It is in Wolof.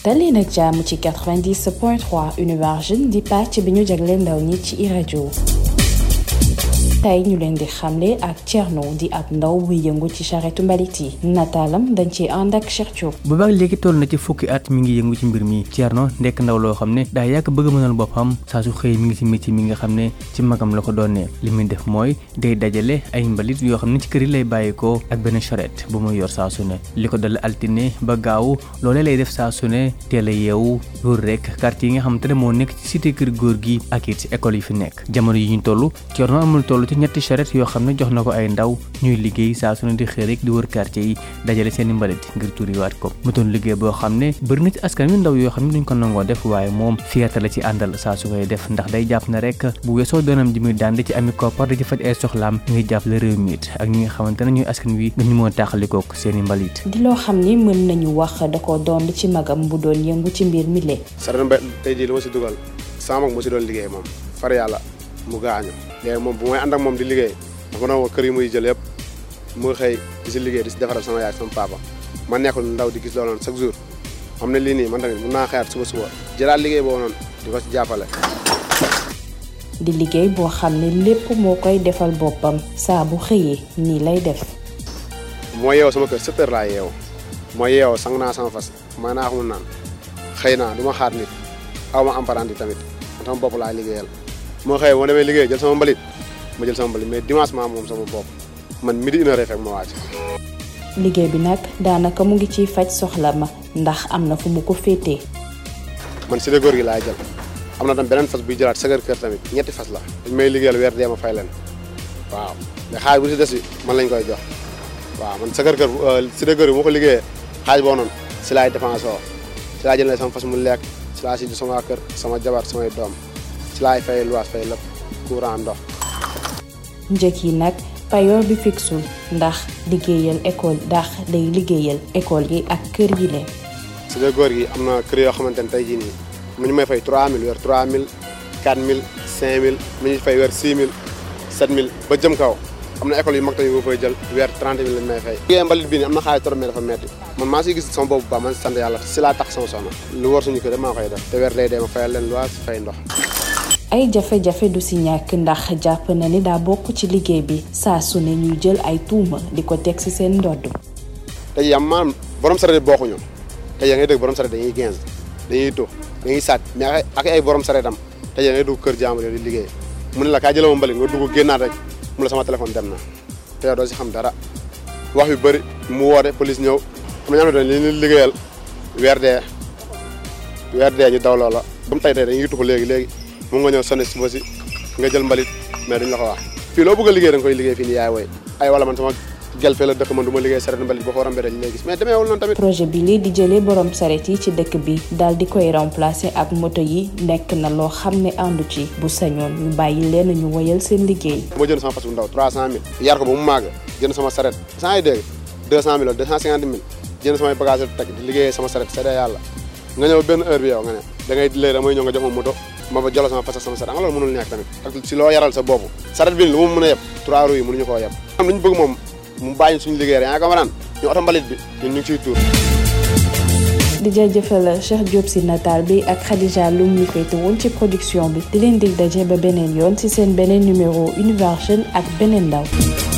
dalee nag jàmm ci 90.3 Univers Jeune di pàcc bi ñu jagleel ndaw ñi ci rajo. tey ñu leen di xamle ak Thierno di ab ndaw buy yëngu ci charrette mbalit yi nataalam dañ ci ànd ak Cheikh Diop. boobaak léegi toll na ci fukki at mi ngi yëngu ci mbir mi Thierno nekk ndaw loo xam ne daa yàgg bëgg mënal boppam saa su xëy mi ngi ci métier mi nga xam ne ci magam la ko doonee li muy def mooy day dajale ay mbalit yoo xam ne ci kër yi lay bàyyikoo ak benn charrette bu muy yor saa su ne li ko dal altine ba gaaw loolee lay def saa su ne teel a yeewu loolu rek quartier yi nga xam te ne moo nekk ci cité kër góor gi ak it ci école yi fi nekk jamono yi ñu toll Thierno amul toll ci ñetti charrette yoo xam ne jox na ko ay ndaw ñuy liggéey saa su ne di xëy rek di wër quartier yi dajale seeni mbalit ngir turiwaat ko mu doon liggéey boo xam ne bëri na ci askan wi ndaw yoo xam ne duñ ko nangoo def waaye moom fierté la ci àndal saa su koy def ndax day jàpp na rek bu weesoo doonam ji muy daan di ci ami koppar di ci faj ay soxlaam ngi jàppale réew mi it ak ñi nga xamante ne ñuy askan wi nga ñu moo taaxalikook seeni mbalit di loo xam ni mën nañu wax da ko doon ci magam bu doon yëngu ci mbir mi le sarana mbay tey jii li ma si dugal sama mag mu si doon liggéey moom far yàlla mu gaañu léegi moom bu may ànd ak moom di liggéey dafa doon kër yi muy jël yëpp mu xëy di si liggéey di si defaral sama yaay sama papa ma nekkul ndaw di gis loolu noonu chaque jour xam ne lii nii man tamit mën naa xëyaat suba jëlaat liggéey boobu noonu di ko si jàppale. di liggéey boo xam ne lépp moo koy defal boppam saa bu xëyee nii lay def. moo yeewoo sama kër 7 heures laa yeewoo moo yeewoo sang naa sama fas may naa xamul naan xëy naa du ma xaar nit aw ma apprenti tamit man sama bopp laa liggéeyal moo xëy moo demee liggéey jël sama mbalit ma jël sama mbalit mais dimanche maa moom sama bopp man midi 1h fekk ma wàcc. liggéey bi nag daanaka mu ngi ciy faj soxla ma ndax am na fu mu ko féetee. man si de góor gi laay jël am na tam beneen fas buy jëlaat sagar kër tamit ñetti fas la dañ may liggéeyal weer dee ma fay leen waaw mais xaaj bu si des bi man lañ koy jox waaw man sagar kër si de góor gi moo ko liggéeyee xaaj boo noonu si laay dépense oo si laay jëlee sama fas mu lekk si laa si ju sama kër sama jabar samay doom si laay fay luwaas fay lépp courant ndox. njëkk yi nag payoor bi fixul ndax liggéeyal école ndax day liggéeyal école yi ak kër yi leen. si de góor gi am na kër yoo xamante ne tey jii nii mu ñu may fay 3000 weer 3000 4000 5000 mu ñu fay weer 6000 7000 ba jëm kaw am na école yu mag tamit boo fay jël weer 30 000 lañ may fay. liggéey mbalit bii nii am na xaalis trop mais dafa metti man maa siy gis sama bopp bu baax man sant yàlla si laa tax sama soxna lu war suñu kër maa koy def te weer day dee ma fayal leen luwaas fay ndox. ay jafe-jafe du si ñàkk ndax jàpp na ni daa bokk ci liggéey bi saa su ne ñuy jël ay tuuma di ko teg si seen ndodd. tey jii am maanaam borom sareet bokkuñu tey yaa ngay dégg borom sareet dañuy 15 dañuy tux dañuy sàcc mais ak ay borom sareetam tey yaa ngay dugg kër jàmbur di liggéey mu ne la kaa jëlee ma mbalit nga dugg génnaat rek mu la sama téléphone dem na te yow doo si xam dara wax yu bëri mu woote police ñëw am na ñoo xam ne dañuy liggéeyal weer dee ñu daw loola ba mu tey dañuy tux léegi mu nga ñëw sonné suba si nga jël mbalit mais duñ la ko wax fii loo bëgg a liggéey da nga koy liggéey fii nii yaay woy ay wala man sama gel fee la dëkk man du ma liggéey saret mbalit boo ko rombee dañ lay gis mais demeewul noonu tamit. projet bi lii di jëlee borom saret yi ci dëkk bi daal di koy remplacer ak moto yi nekk na loo xam ne àndu ci bu sañoon ñu bàyyi leen ñu woyal seen liggéey. moo jënd sama fas bu ndaw 300000 yar ko ba mu màgg jënd sama saret saa yi dégg 200000 wala 250000 jënd samay bagage teg di liggéey sama saret seede yàlla nga ñëw benn heure bi yow nga ne da ngay léegi damay ñëw nga jox ma moto ma ba jolo sama fas ak sama saret nga loolu mënul nekk tamit ak si loo yaral sa bopp saret bi lu mu mën a yeb 3 roues yi mënuñu koo yeb am lu ñu bëgg moom mu bàyyi suñu liggéey rek yaa ngi ko maraan ñu oto mbalit bi ñun ñu ngi ciy tuur. di jaajëfal Cheikh Diop si nataal bi ak Khadija Loum mi féete woon ci production bi di leen dig daje ba beneen yoon ci seen beneen numéro Univers Jeune ak beneen ndaw.